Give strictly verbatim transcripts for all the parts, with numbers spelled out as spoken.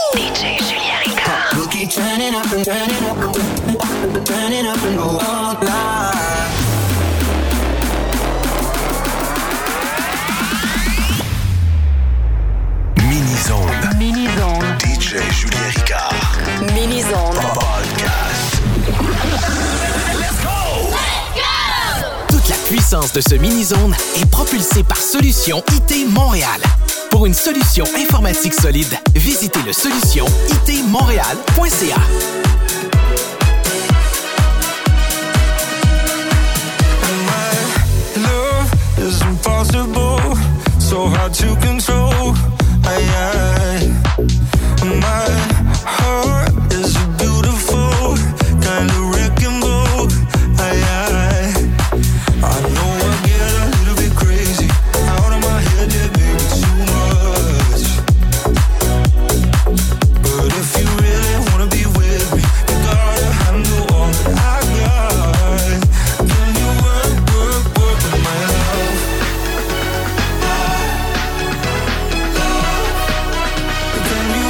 D J Julien Ricard. We'll keep turning up and turning up and turning up and go all night. Mini-zone. Mini-zone. D J Julien Ricard. Mini-zone. Podcast. Let's go! Let's go! Toute la puissance de ce mini-zone est propulsée par Solutions I T Montréal. Pour une solution informatique solide, visitez le solution i t montréal point c a. Is impossible, so hard to control. I, I, my heart is a beautiful kind of wrecking ball. I, I, I know I get a little bit crazy, out of my head, yeah, baby, too much. But if you really wanna be with me, you gotta handle all that I got. Can you work, work, work with my love? Can you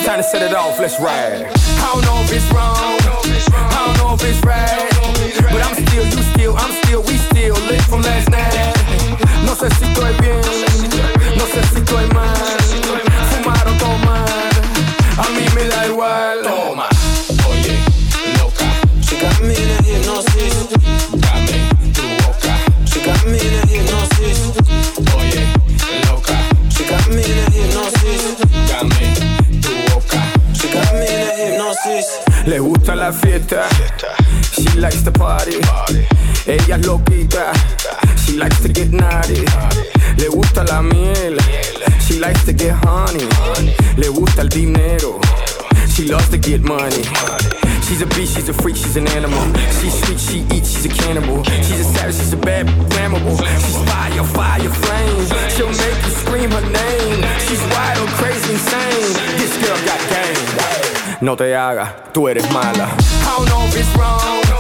time to set it off, let's ride. I don't know if it's wrong, I don't know if it's right, but I'm still, you still, I'm still, we still lit from last night. No sé si estoy bien, no sé si estoy mal, fumar o tomar, a mí me da igual. Toma, oye, loca, She got me in a hypnosis. dame tu boca. She got me in a hypnosis. Oye, loca, She got me in a hypnosis. dame tu boca. She got me in a hypnosis. Le gusta la fiesta, she likes to party. Ella es loquita, she likes to get naughty. Le gusta la miel, she likes to get honey. Le gusta el dinero, she loves to get money. She's a beast, she's a freak, she's an animal. She's sweet, she eats, she's a cannibal. She's a savage, she's a bad, flammable. She's fire, fire, flame. She'll make you scream her name. She's wild, crazy, insane. This girl got game. No te hagas, tú eres mala. I don't know if it's wrong,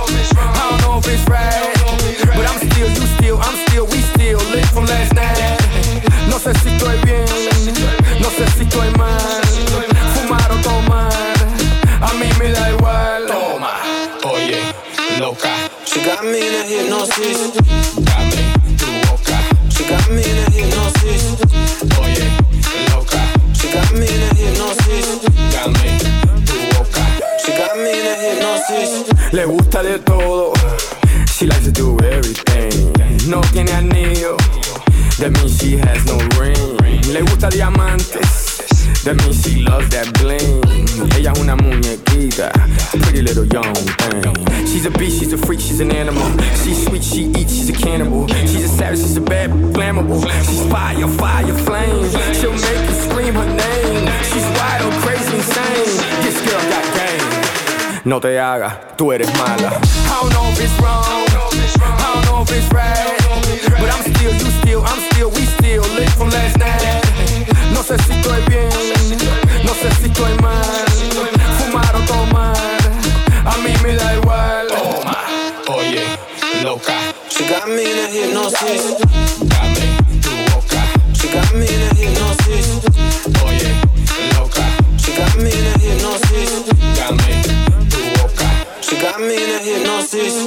I don't know if it's right, but I'm still, you still, I'm still, we still lit from last night. No sé si estoy bien, no sé si estoy mal, fumar o tomar, a mí me da igual. Toma, oye, loca, She got me in a hypnosis. dame tu boca. She got me in a hypnosis. Oye, loca, She got me in a hypnosis. dame tu boca. She got me in a hypnosis. Le gusta de todo, she likes to do everything. No tiene anillo, that means she has no ring. Le gusta diamantes, that means she loves that bling. Ella es una muñequita, pretty little young thing. She's a beast, she's a freak, she's an animal. She's sweet, she eats, she's a cannibal. She's a savage, she's a bad, flammable. She's fire, fire, flame. She'll make you scream her name. She's wild, crazy, insane. This girl got game. No te hagas, tú eres mala. I don't know if it's wrong, I don't know if it's right, but I'm still, you still, I'm still, we still lit from last night. No sé si estoy bien, no sé si estoy mal, fumar o tomar, a mí me da igual. Toma, oye, loca, She got me in a hypnosis. dame tu boca. She got me in a hypnosis. Oye, loca, She got me in a hypnosis. dame tu boca. She got me in a hypnosis.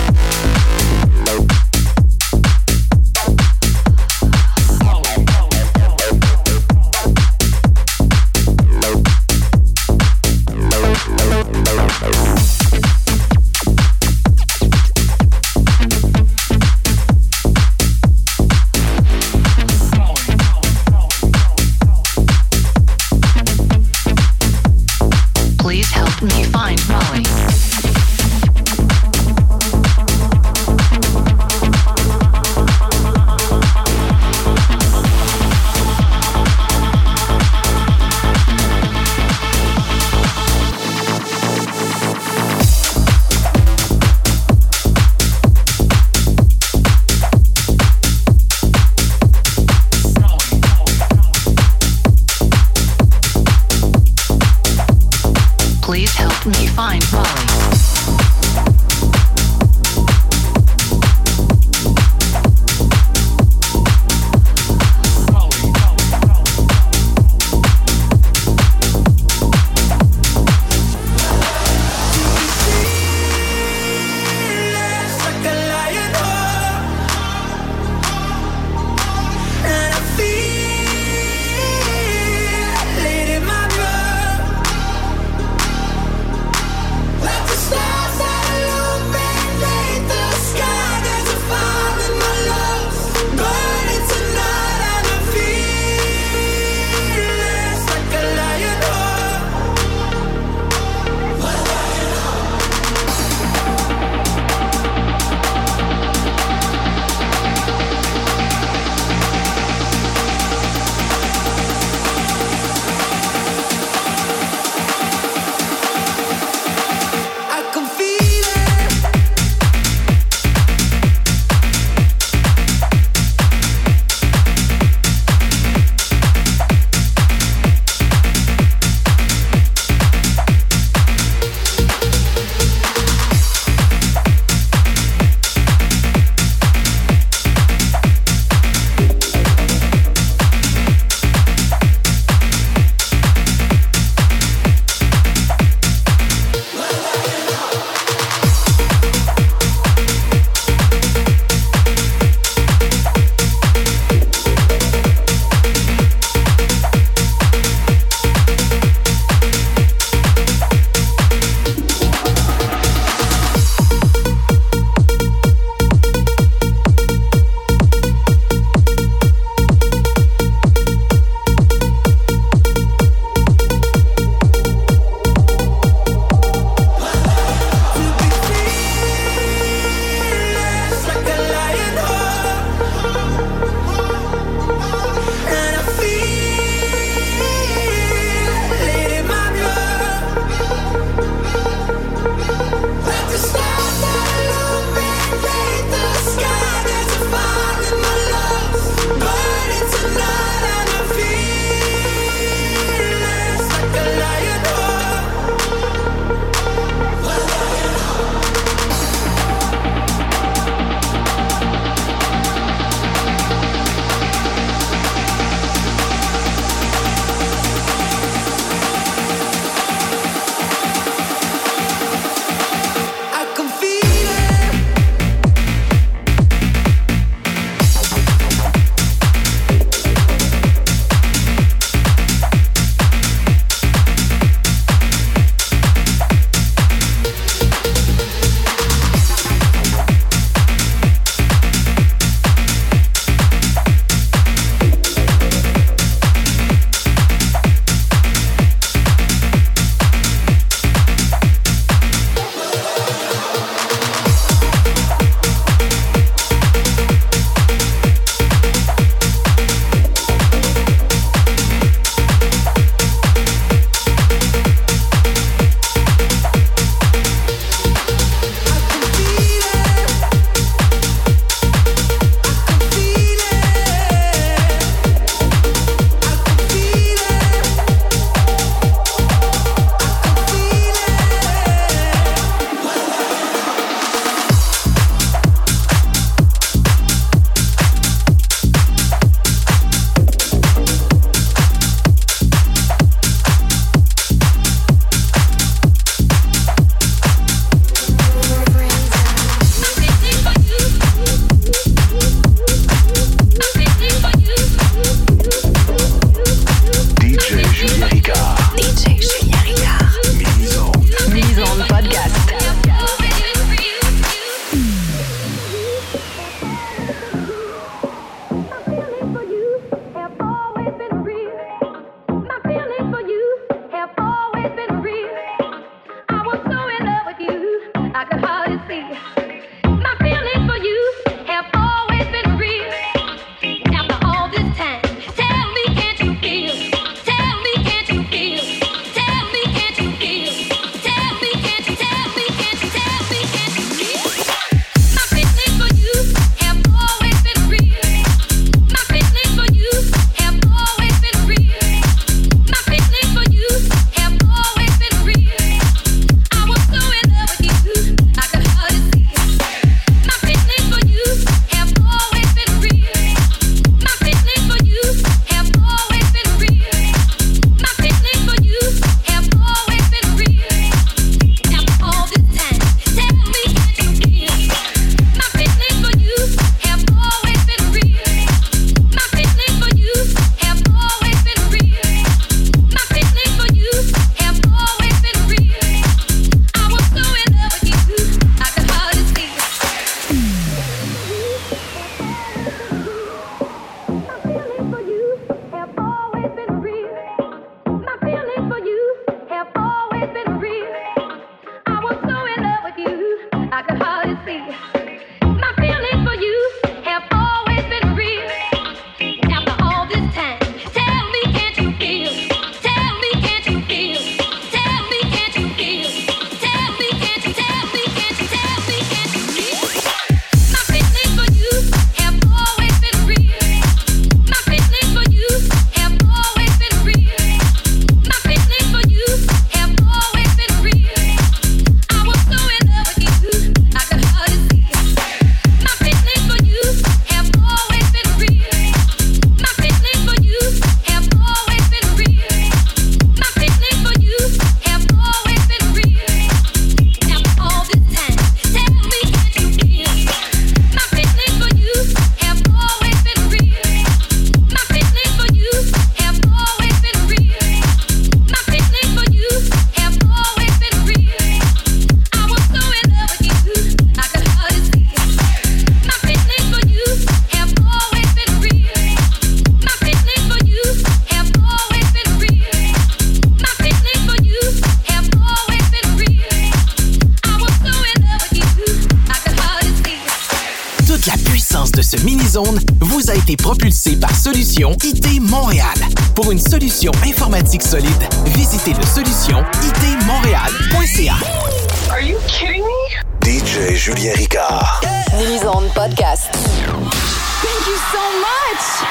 Toute la puissance de ce mini-zone vous a été propulsée par Solution I T Montréal. Pour une solution informatique solide, visitez le solution I T montréal point c a. Are you kidding me? D J Julien Ricard. Mini-zone podcast. Thank you so much!